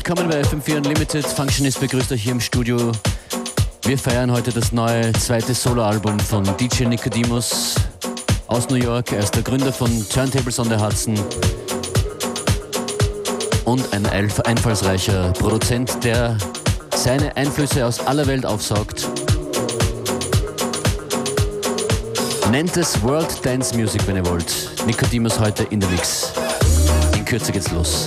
Willkommen bei FM4 Unlimited. Functionist begrüßt euch hier im Studio. Wir feiern heute das neue zweite Soloalbum von DJ Nicodemus aus New York. Er ist der Gründer von Turntables on the Hudson und ein einfallsreicher Produzent, der seine Einflüsse aus aller Welt aufsaugt. Nennt es World Dance Music, wenn ihr wollt. Nicodemus heute in der Mix. In Kürze geht's los.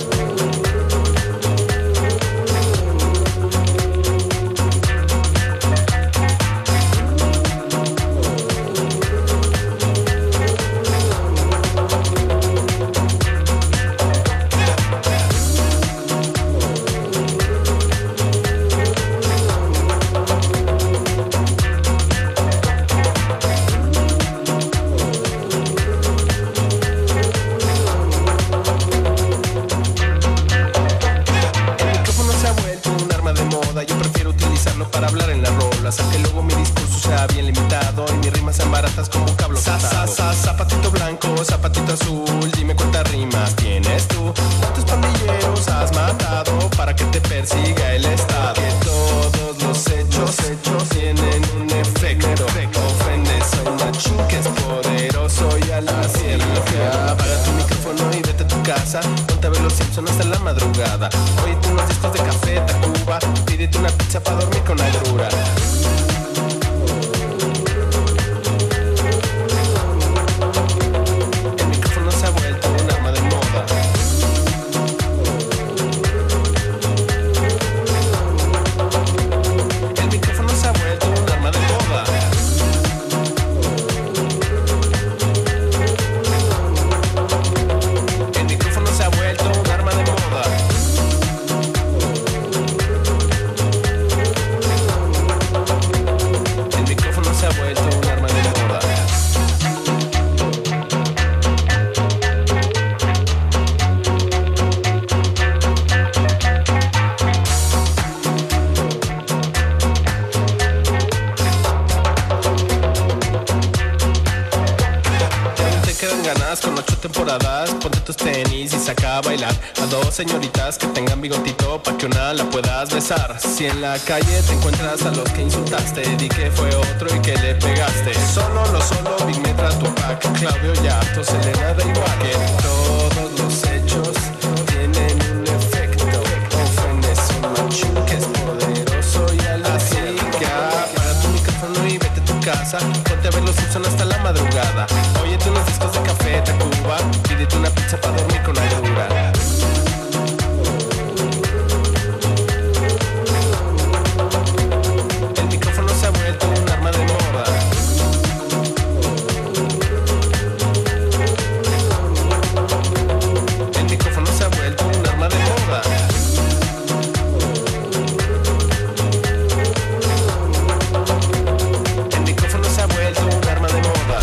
Zapatito blanco, zapatito azul, dime cuántas rimas tienes tú. ¿Cuántos pandilleros has matado para que te persiga el Estado? Que todos los hechos tienen un efecto. Ofendes a un machín que es poderoso y al hacerlo. Apaga tu micrófono y vete a tu casa. Ponte a ver los Simpsons hasta la madrugada. Óyete unos discos de Café Tacuba. Pídete una pizza para dormir con agrura. Ponte tus tenis y saca a bailar a dos señoritas que tengan bigotito pa' que una la puedas besar. Si en la calle te encuentras a los que insultaste, di que fue otro y que le pegaste. Solo, Big Metra, Tupac, Claudio Yarto, Selena de igual. Que todos los hechos tienen un efecto. Ofendes a un machín que es poderoso y al asiga. Para tu micrófono y vete a tu casa. Ponte a ver los Simpsons hasta la madrugada. Óyete unos discos de Café Tacuba. Pídete una pizza para dormir con agrura. El micrófono se ha vuelto un arma de moda. El micrófono se ha vuelto un arma de moda. El micrófono se ha vuelto un arma de moda.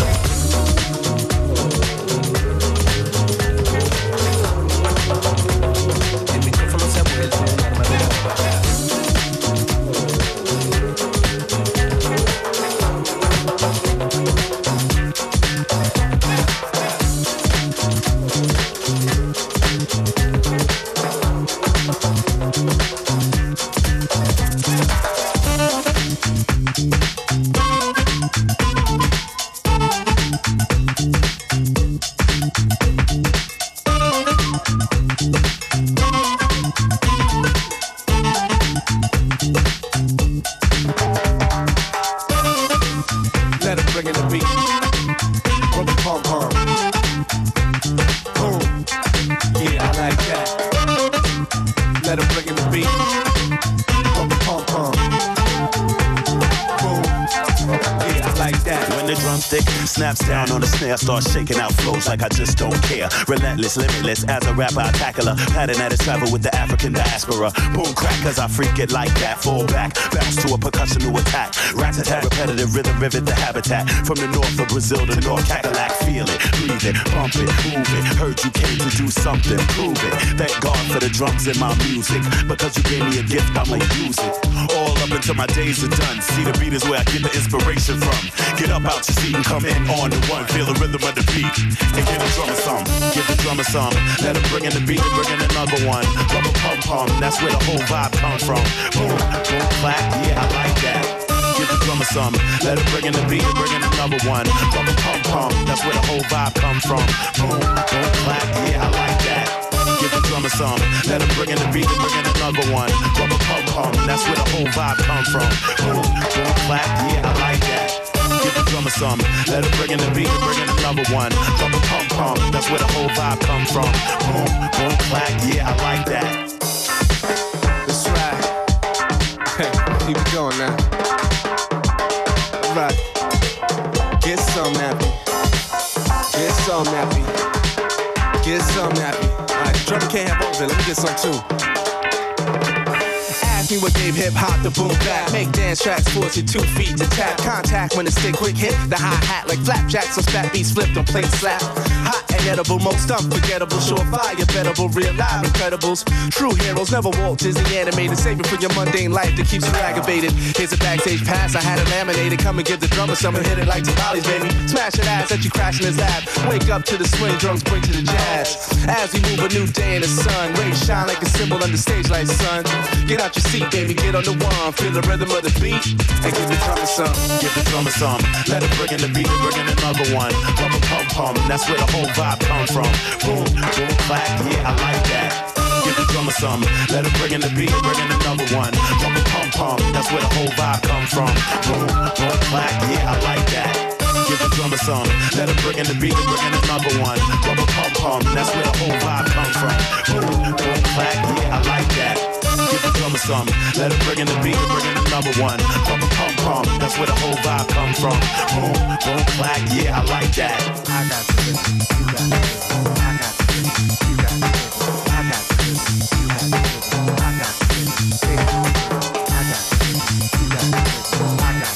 Snaps down on the snare, start shaking out flows like I just don't care. Relentless, limitless, as a rapper I tackle her. Pattern at its travel with the African diaspora. Boom crack, cause I freak it like that. Fall back, bounce to a percussional attack. Rat-a-tat, repetitive rhythm, rivet the habitat. From the north of Brazil to North Cadillac. Feel it, breathe it, bump it, move it. Heard you came to do something, prove it. Thank God for the drums in my music. Because you gave me a gift, I'ma use it. All up until my days are done. See, the beat is where I get the inspiration from. Get up out your seat, can come in on the one, feel the rhythm of the beat, and give the drummer some, give the drummer some. Let him bring in the beat and bring in another one. Rubber pum pum, that's where the whole vibe comes from. Boom, boom, clap, yeah, I like that. Give the drummer some, let him bring in the beat and bring in another one. Rubber pum pum, that's where the whole vibe comes from. Boom, boom, clap, yeah, I like that. Give the drummer some, let him bring in the beat and bring in another one. Rubber pum pum, that's where the whole vibe comes from. Boom, boom, clap, yeah, I like that. Give the drummer some, let him bring in the beat and bring in another one. Rubber pum pum, that's where the whole vibe comes from. Boom, boom, clap, yeah, I like that. That's right. Keep it going now. All right. Get some nappy. Get some nappy. Get some nappy. All right, drummer can't have all of it. Let me get some too. Ask me what gave hip-hop the boom back. Make dance tracks, force your 2 feet to tap. Contact when the stick quick hit the hi-hat like flapjacks. So fat beats flipped on plate slap. Hot and edible, most unforgettable. Surefire, bettable, real live incredibles. True heroes never walk Disney animated. Save it for your mundane life that keeps you aggravated. Here's a backstage pass, I had it laminated. Come and give the drummer some and hit it like tamales, baby. Smash that ass that you crash in his lap. Wake up to the swing, drums bring to the jazz. As we move a new day in the sun. Rays shine like a symbol under stage lights, son. Get out your seat, baby, get on the one. Feel the rhythm of the beat and give the drummer some. Give the drummer some, let him bring in the beat and bring in another one. Rubber pum pum, that's where the whole vibe comes from. Boom, boom, clap, yeah, I like that. Give the drummer some, let him bring in the beat and bring in another one. Rubber pum pum, that's where the whole vibe comes from. Boom, boom, clap, yeah, I like that. Give the drummer some, let him bring in the beat and bring in another one. Rubber pum pum, that's where the whole vibe comes from. Boom, boom, clap, yeah, I like that. Give the drummer some, let him bring in the beat and bring in another one. Rubber pum pum, that's where the whole vibe comes from. Boom, boom, clap, yeah, I like that. I got this, you got this, I got this, you got this, I got this, you got this, I got this, I got this, you got this, I got this, I got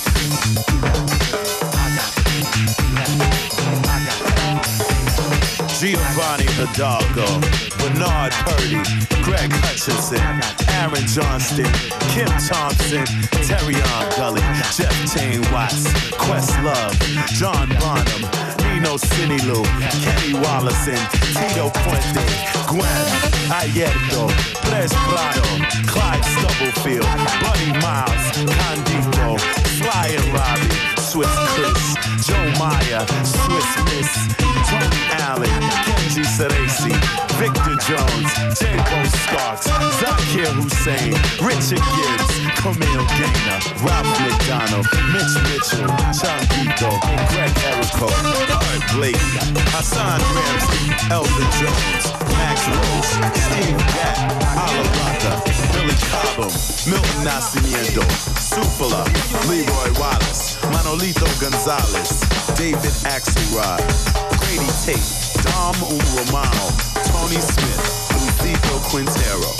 this. Giovanni Hidalgo, Bernard Purdy, Greg Hutchinson, Aaron Johnston, Kim Thompson, Terrion Gully, Jeff Tane Watts, Questlove, John Bonham, Nino Sinilu, Kenny Wallison, Tito Puente, Gwen, Ayerto, Pres Prado, Clyde Stubblefield, Buddy Miles, Condito, Sly and Robbie, Swiss Chris, Joe Meyer, Swiss Miss, Tony Allen, Kenji Ceresi, Victor Jones, J.Bo Starks, Zakir Hussein, Richard Gibbs, Camille Gaynor, Ralph McDonald, Mitch Mitchell, Changito, Greg Erico, Art Blakey, Hassan Ramsey, Elvin Jones, Max Roach, Steve Gatt, Alabata, Billy Cobham, Milton Nascimento, Supala, Leroy Wallace, Manolito Gonzalez, David Axelrod, Grady Tate, Dom Romano, Tony Smith, Lucido Quintero,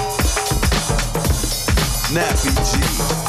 Nappy G.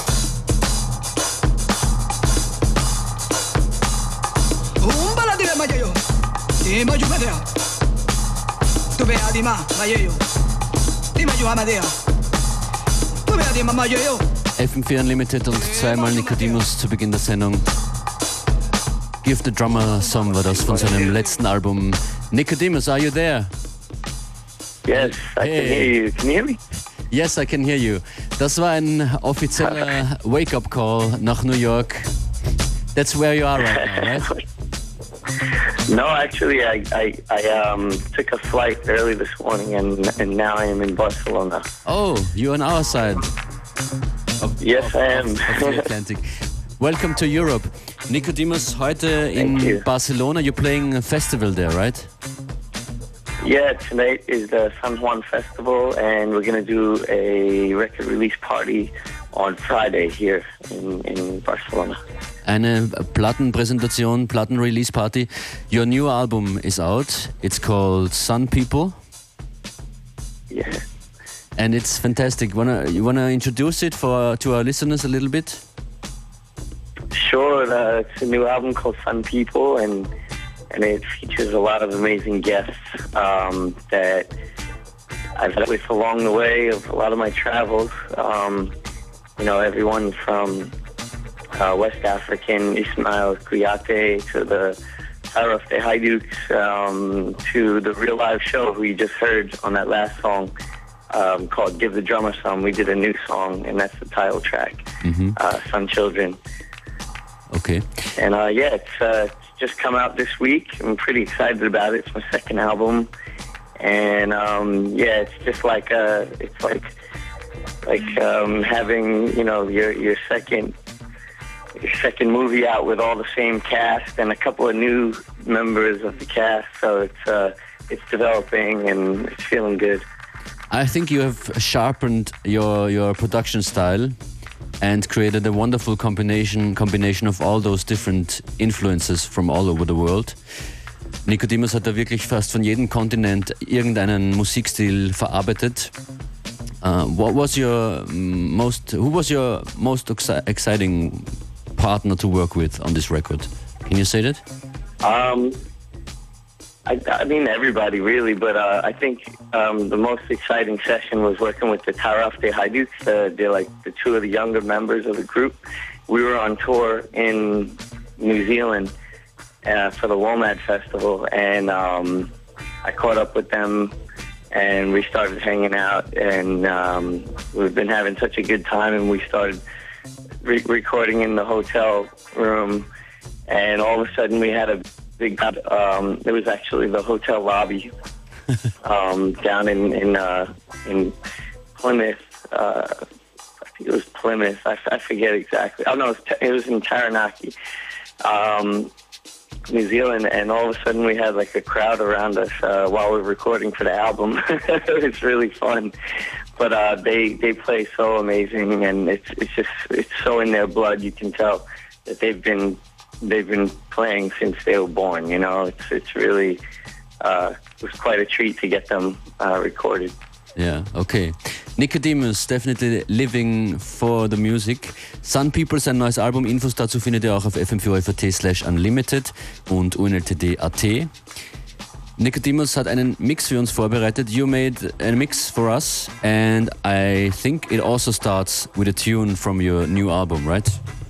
FM4 Unlimited und zweimal Nicodemus zu Beginn der Sendung. Give the Drummer Some war das von seinem letzten Album. Nicodemus, are you there? Yes, I can hear you. Can you hear me? Yes, I can hear you. Das war ein offizieller Wake-up-Call nach New York. That's where you are right now, right? No, actually, I took a flight early this morning, and now I am in Barcelona. Oh, you're on our side. Yes, I am. Of the Atlantic. Welcome to Europe. Nicodemus, heute in Barcelona, you're playing a festival there, right? Yeah, tonight is the San Juan Festival, and we're going to do a record release party on Friday here in Barcelona. Eine Plattenpräsentation, Platten-Release-Party. Your new album is out. It's called Sun People. Yeah. And it's fantastic. You wanna introduce it to our listeners a little bit? Sure. It's a new album called Sun People, and it features a lot of amazing guests that I've met with along the way of a lot of my travels. Everyone from West African Ismail Kouyaté to the Taraf de Hajduk to the Real Live Show who you just heard on that last song called Give the Drummer Some. We did a new song, and that's the title track, Sun Children. Okay. And it's just come out this week. I'm pretty excited about it. It's my second album. And it's just like having, you know, your second movie out with all the same cast and a couple of new members of the cast. So it's developing and it's feeling good. I think you have sharpened your production style and created a wonderful combination of all those different influences from all over the world. Nicodemus hat da wirklich fast von jedem Kontinent irgendeinen Musikstil verarbeitet. Who was your most exciting partner to work with on this record? Can you say that? I mean everybody really, but I think the most exciting session was working with the Taraf de Hajduk. They're like the two of the younger members of the group. We were on tour in New Zealand for the WOMAD Festival, and I caught up with them and we started hanging out, and we've been having such a good time, and we started recording in the hotel room, and all of a sudden we had a big it was actually the hotel lobby down in Plymouth. I think it was Plymouth. I forget exactly. Oh no, it was in Taranaki, New Zealand, and all of a sudden we had like a crowd around us while we were recording for the album. It was really fun, but they play so amazing, and it's so in their blood. You can tell that they've been playing since they were born. You know, it's really it was quite a treat to get them recorded. Yeah, okay. Nicodemus, definitely living for the music. Sun People, sein neues Album, Infos dazu findet ihr auch auf fm4.at/unlimited und unltd.at. Nicodemus hat einen Mix für uns vorbereitet. You made a mix for us, and I think it also starts with a tune from your new album, right?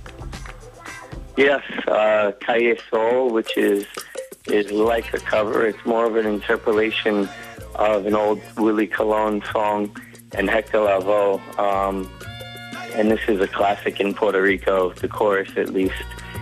Yes, Calle Sol, which is like a cover. It's more of an interpolation of an old Willie Colon song and Hector Lavoe. And this is a classic in Puerto Rico, the chorus at least.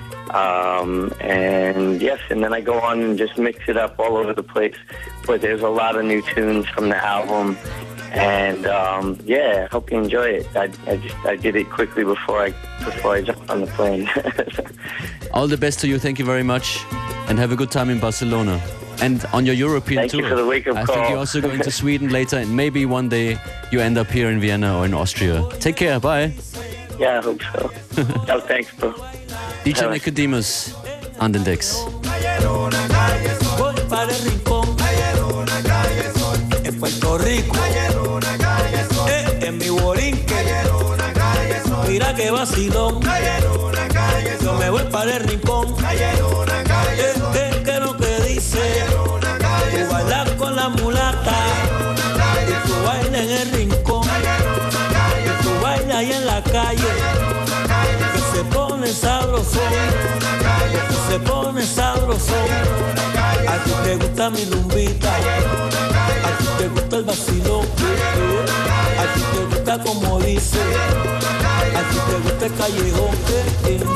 And yes, and then I go on and just mix it up all over the place. But there's a lot of new tunes from the album. And I hope you enjoy it. I did it quickly before I jumped on the plane. All the best to you. Thank you very much, and have a good time in Barcelona and on your European tour. Thank you for the wake-up call. I think you're also going to Sweden later, and maybe one day you end up here in Vienna or in Austria. Take care. Bye. Yeah, I hope so. Oh, thanks, bro. DJ Nicodemus on den Decks. En Puerto Rico, en mi borinque, mira que vacilón, yo me voy para el rincón, que lo que dice, tú bailas con la mulata, y tú bailas en el rincón, y tú bailas ahí en la calle, que se pone sabrosón, que se pone sabrosón, a ti te gusta mi lumbita. A ti te gusta el vacilón, a ti te gusta como dice, a ti te gusta el callejón,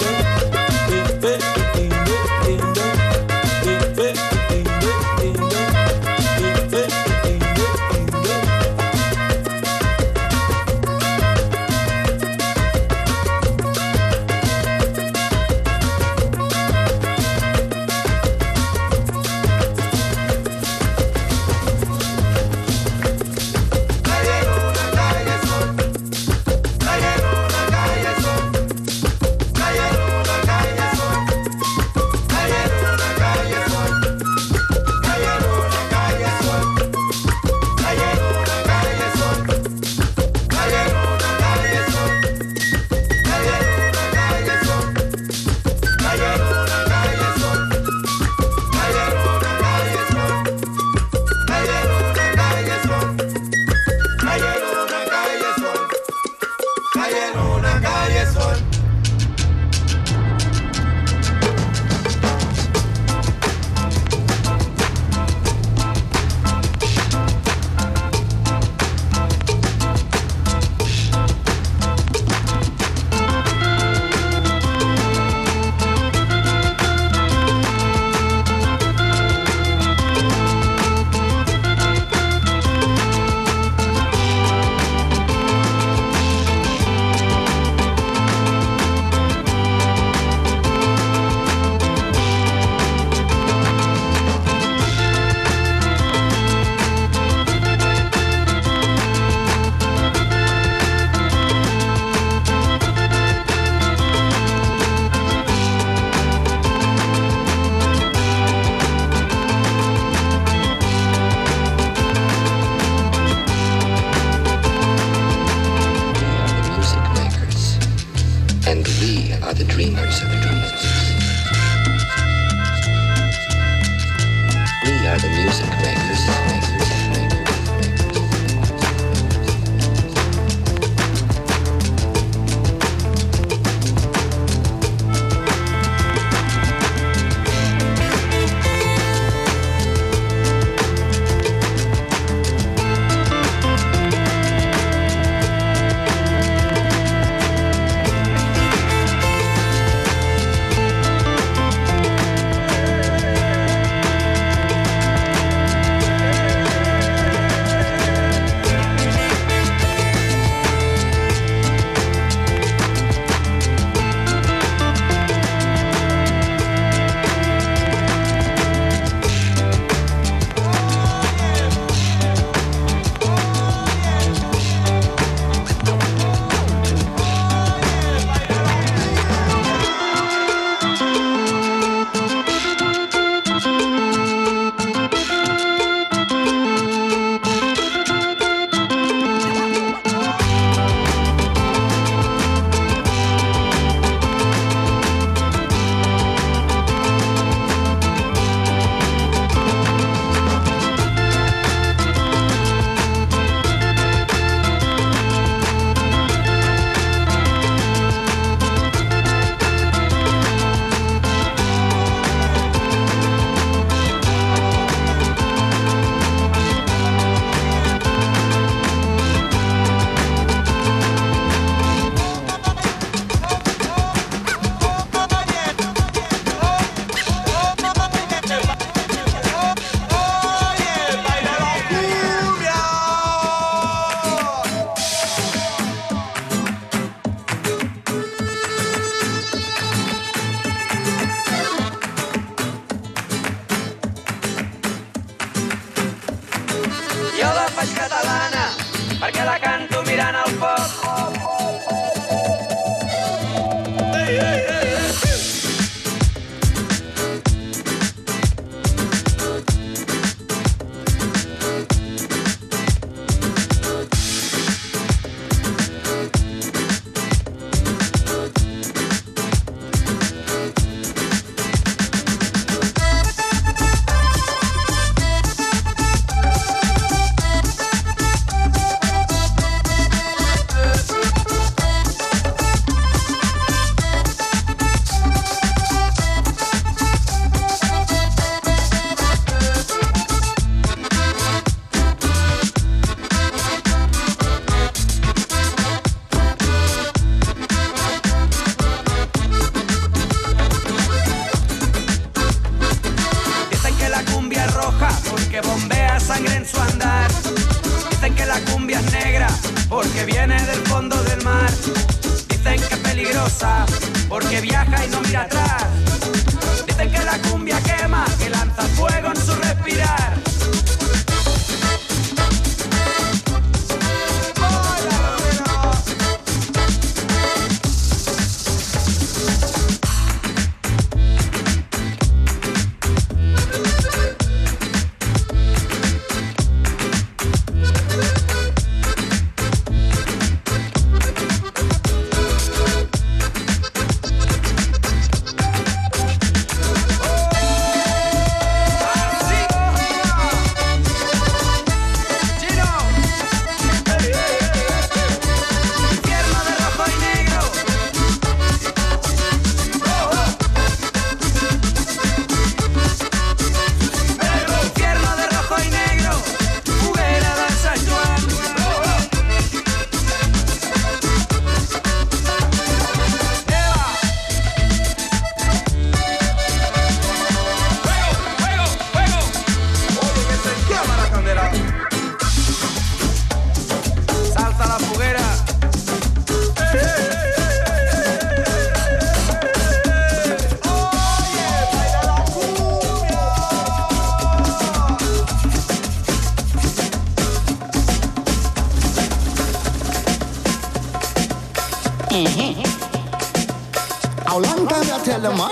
How long time you tell them, man?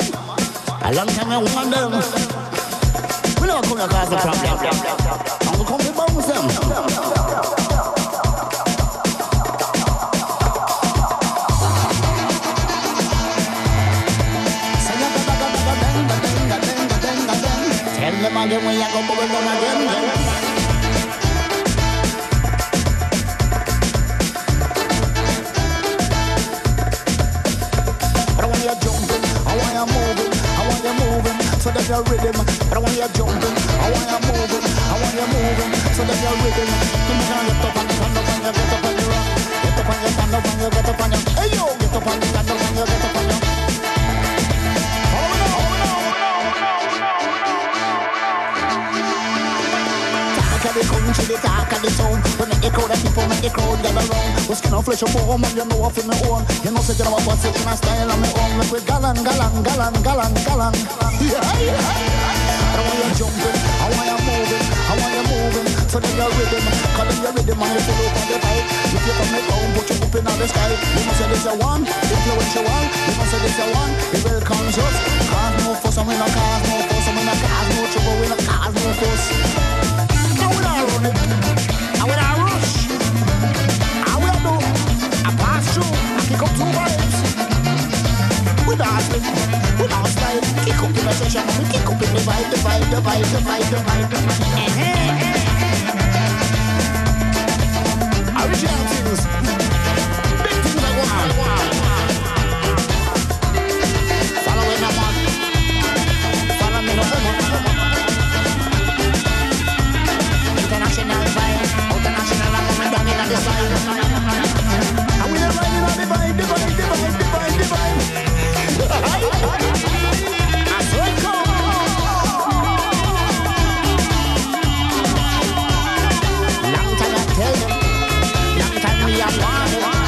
A long time you want them. We don't come across the problem. And we come to bounce them. Tell them again when you go bubble down again. So that you're rhythm, but I want you jumping. I want you moving, I want you moving. So that you're rhythm. Come on, get up on the stand up and you get up on your rock. Get up on your stand up and you get up on your. Hey yo, get up on the stand up and you get up on your. Talk of the country, the talk of the town. We make the crowd of people, make the crowd gather round. We skin on flesh and bone, and you know I feel me own. You know say you know I pass it in a style of me own. Make we galang. Yeah. I want you jumping, I want you moving. So then you're rhythm, cause then you're rhythm and you pull up on the pipe. If you come down, put you up in the sky. You must say this a one, influential. You must say this a one, it will conscious. Cause no fuss, and we no cause no fuss, and we no cause no trouble, we no cause no fuss. Now we not run it, and we not rush. And we do, I pass through, I kick up 2 vibes. We dancing, we don't slide. Kick up in the session, we kick up in the vibe. Original things, big things I want. Follow me, no man. Follow me, no man. International vibe, international, I'm coming down in the side. And we are riding on the vibe. I saw it go. Long time I tell them, long time we have wanted.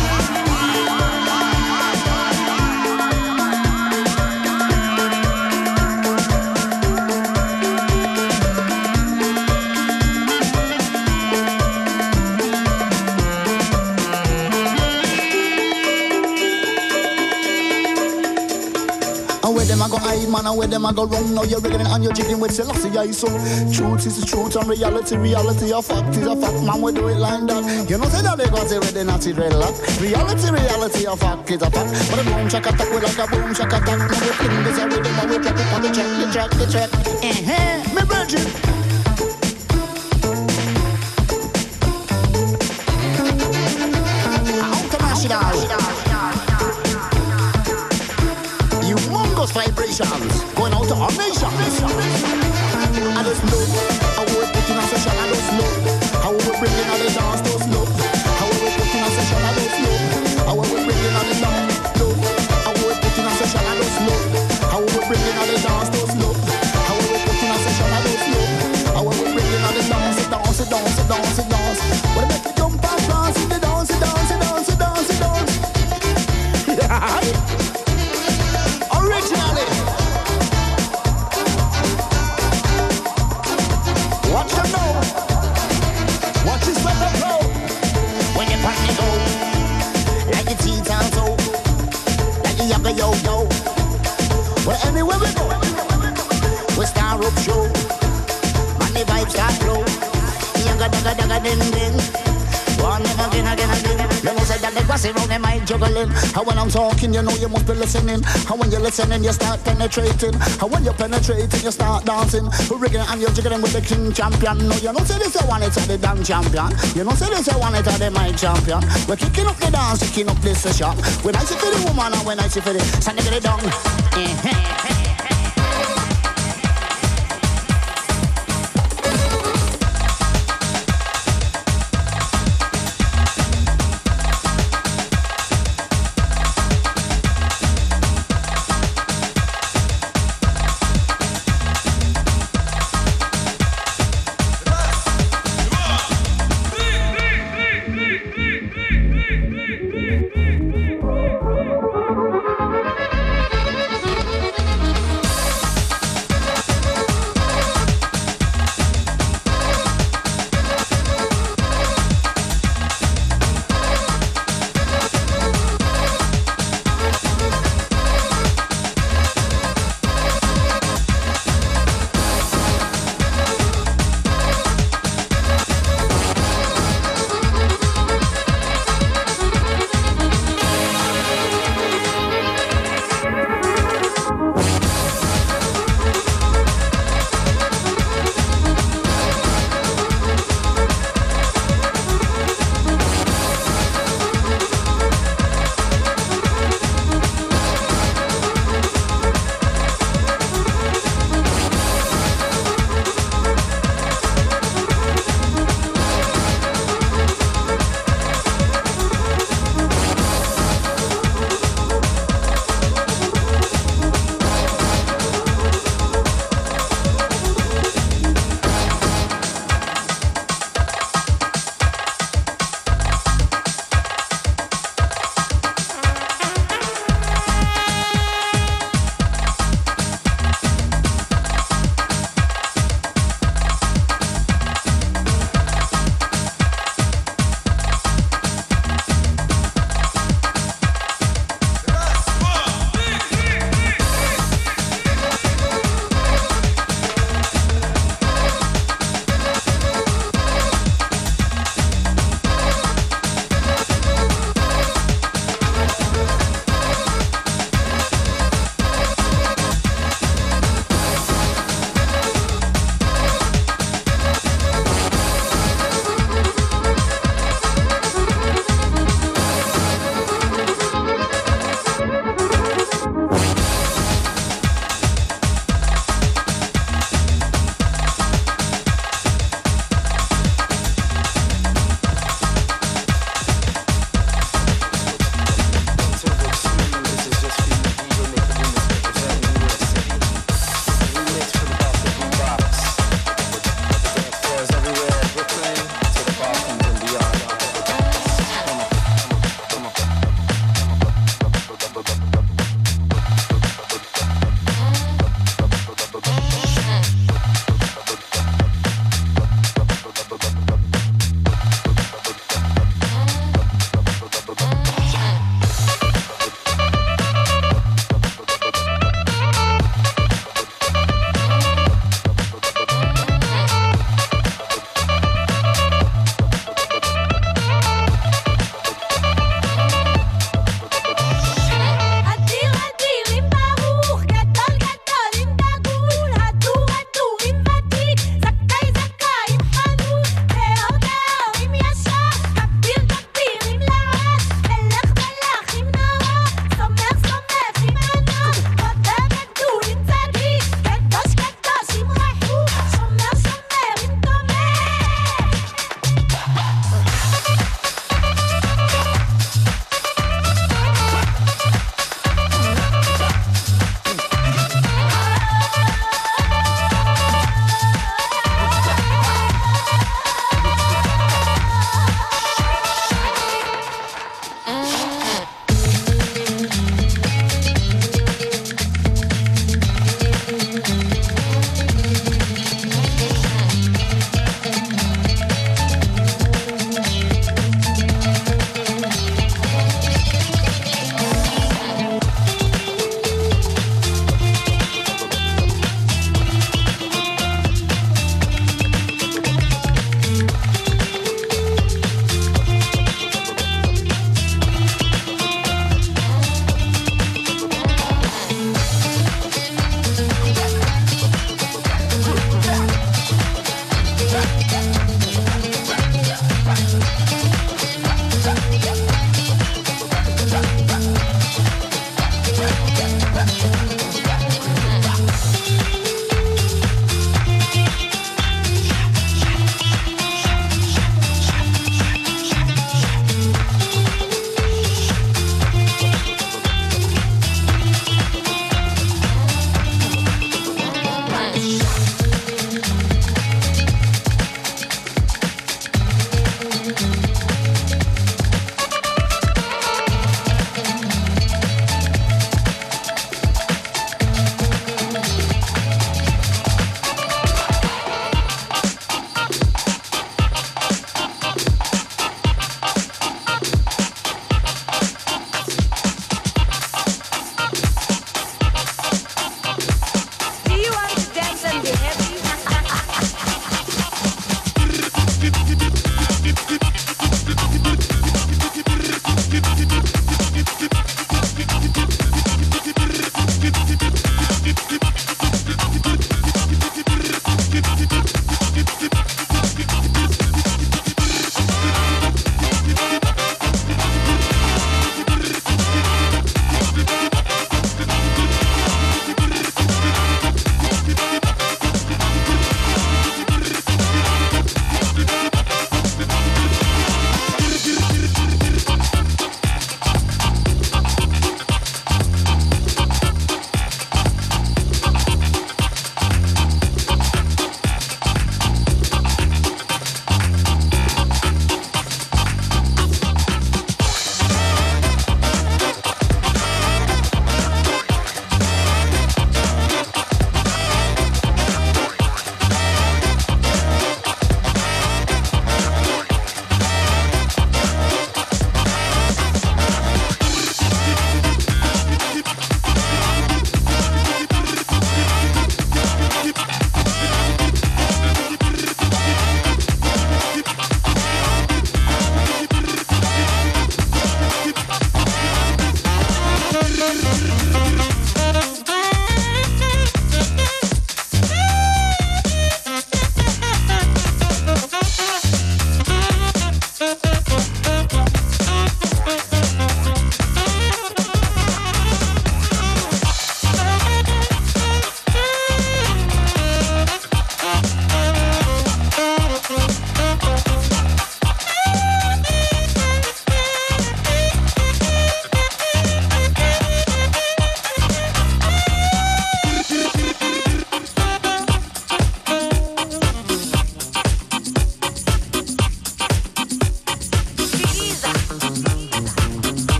I go hide, man, and where them I go wrong. Now you're rigging and you're jigging with Selassie, I so. Truth is the truth and reality a fact is a fact, man, we do it like that. You know say that they got it with the Nazi dreadlock. Reality a fact is a fact. But a boom shack attack, we like a boom shack attack. Now we fling this a rhythm and we drop it on the track. Me virgin. Humongous vibrations going out to our nation. I just know how we're putting a session. I just know how we're bringing on the dance. Just know how we're putting a session. I just know how we're bringing on the dance. How we're putting a session. I just know how we're bringing on the dance. Just know how we're putting a session. I just know how we're bringing on the dance. Dance. What make you jump and dance in the dance. Yeah. Originally, watch them know. Watch this weather flow. When you party go, like the teens and so, like the younger yo. Well, anywhere we go, we start up show. And the vibes start flow. Younger daga din. One again. You know say that they pass around them mind juggling. How when I'm talking, you know you must be listening. How when you're listening, you start penetrating. How when you're penetrating, you start dancing. We're rigging and you're jiggling with the king champion. No, you know say this I want it to the damn champion. You know say this I want it to the mind champion. We're kicking up the dance, kicking up this session. When I see for the woman and when I see for the Sunday get it down.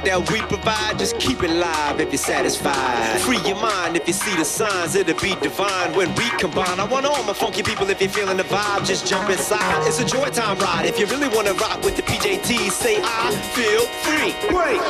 that we provide, just keep it live if you're satisfied. Free your mind if you see the signs, it'll be divine when we combine. I want all my funky people, if you're feeling the vibe, just jump inside. It's a joy time ride. If you really want to rock with the PJT, say I feel free. Wait.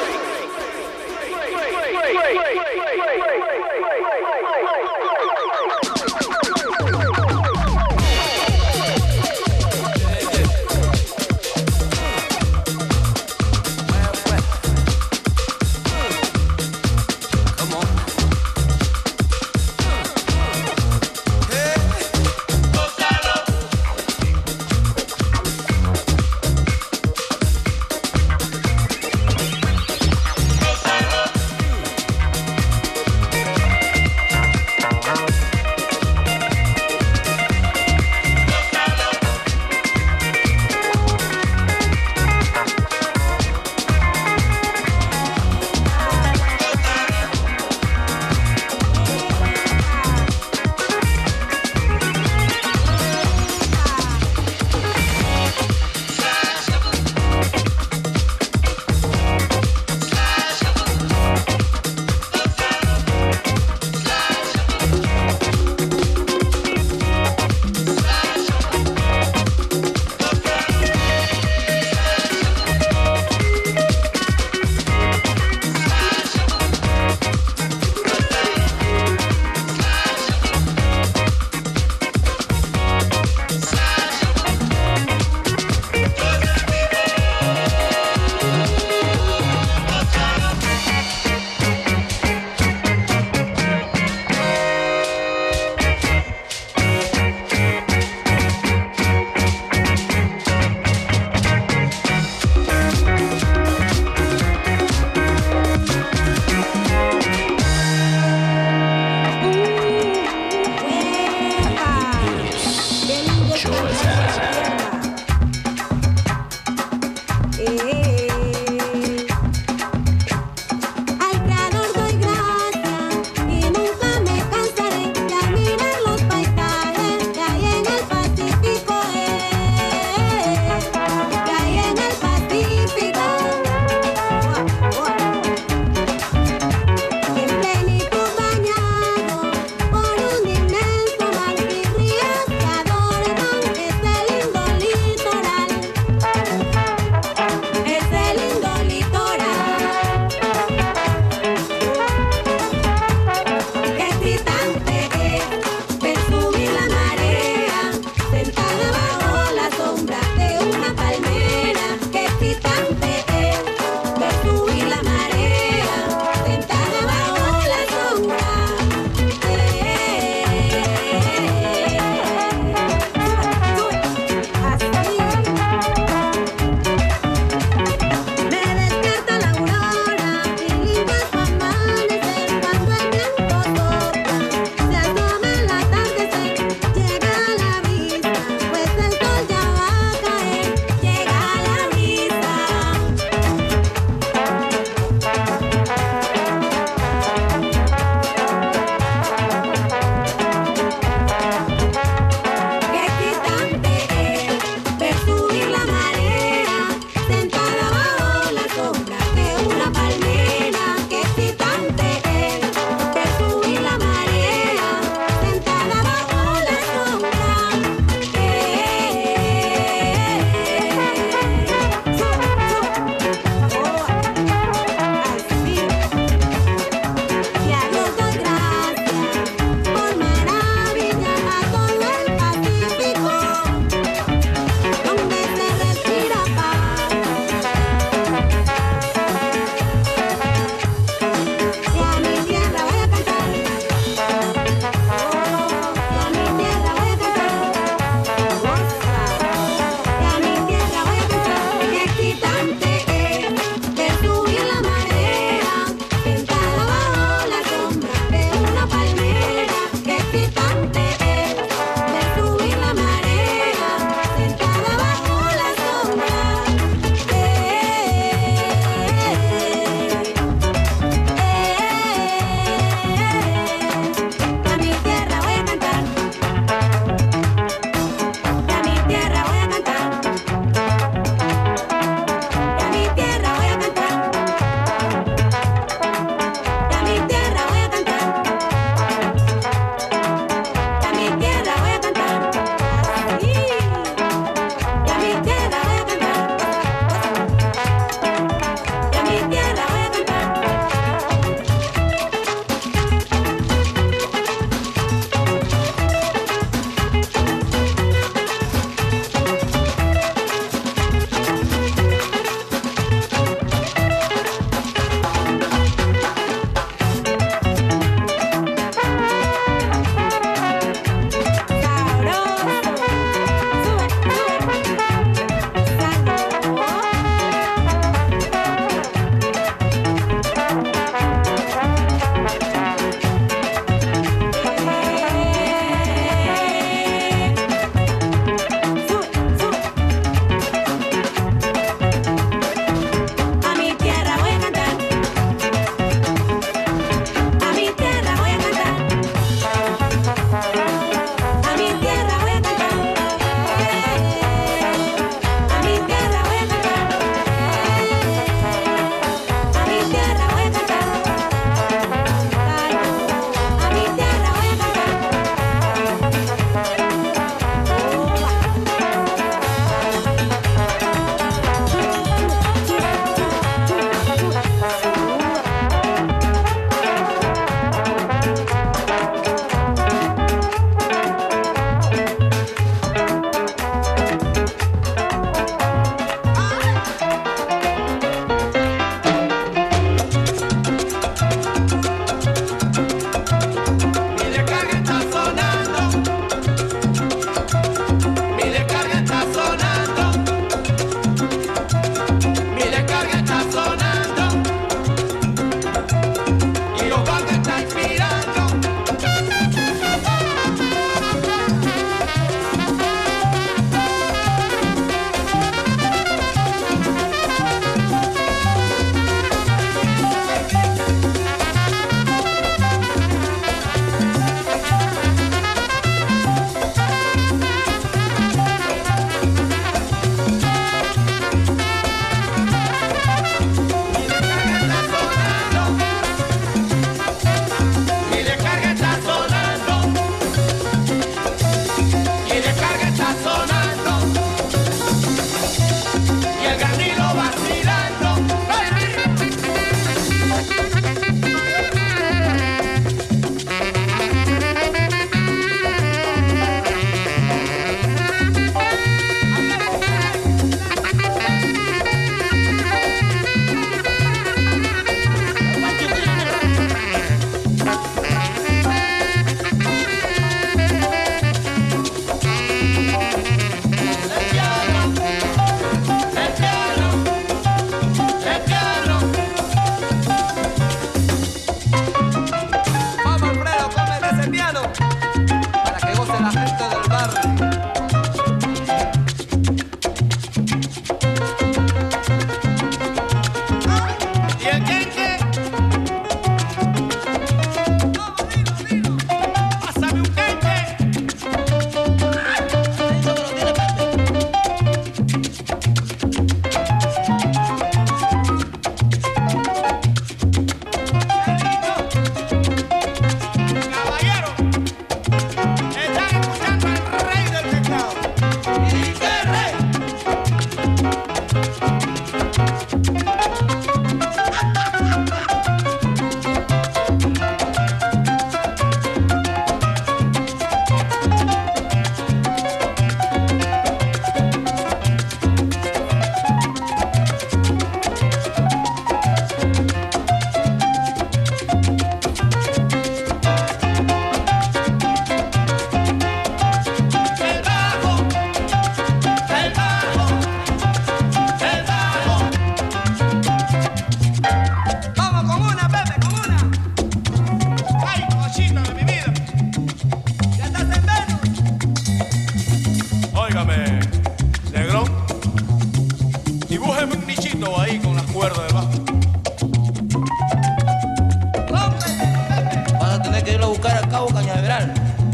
irlo a buscar al Cabo Cañaveral.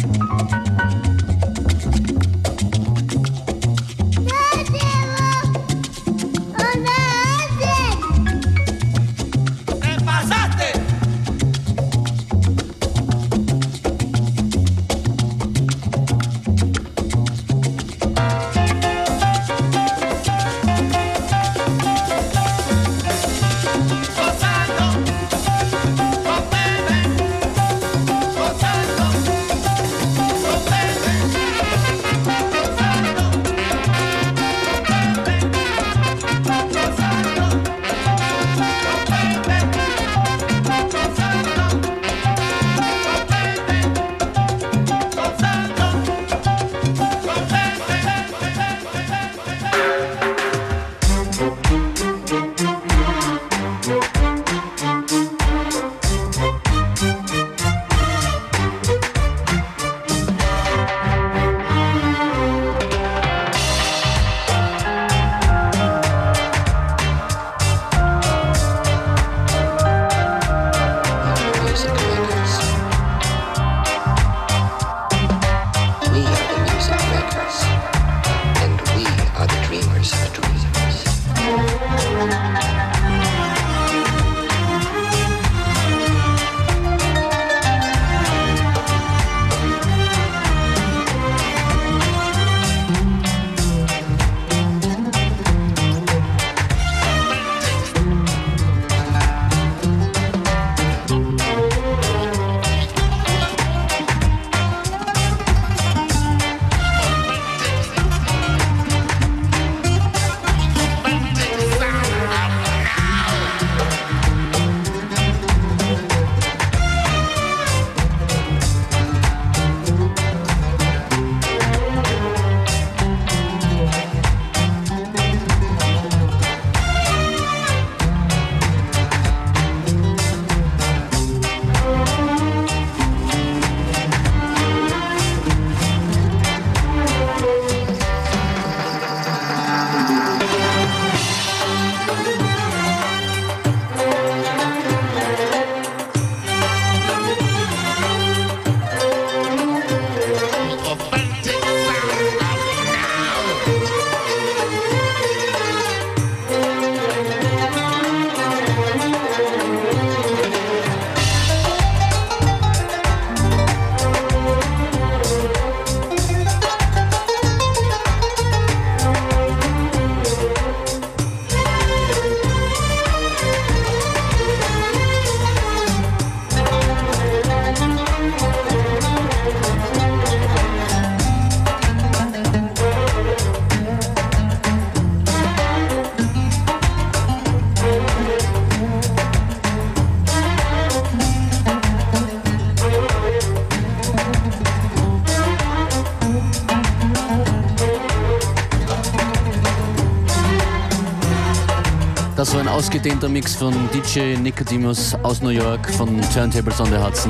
Das war ein ausgedehnter Mix von DJ Nicodemus aus New York von Turntables on the Hudson,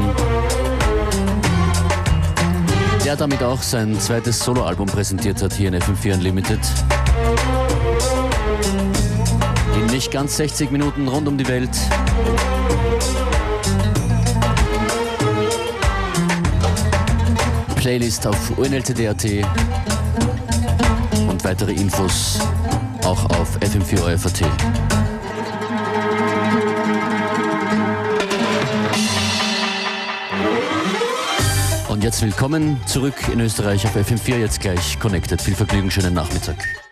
der damit auch sein zweites Soloalbum präsentiert hat hier in FM4 Unlimited. In nicht ganz 60 Minuten rund um die Welt. Playlist auf UNLTD.at und weitere Infos auch auf FM4 ORF.at. Und jetzt willkommen zurück in Österreich auf FM4, jetzt gleich connected. Viel Vergnügen, schönen Nachmittag.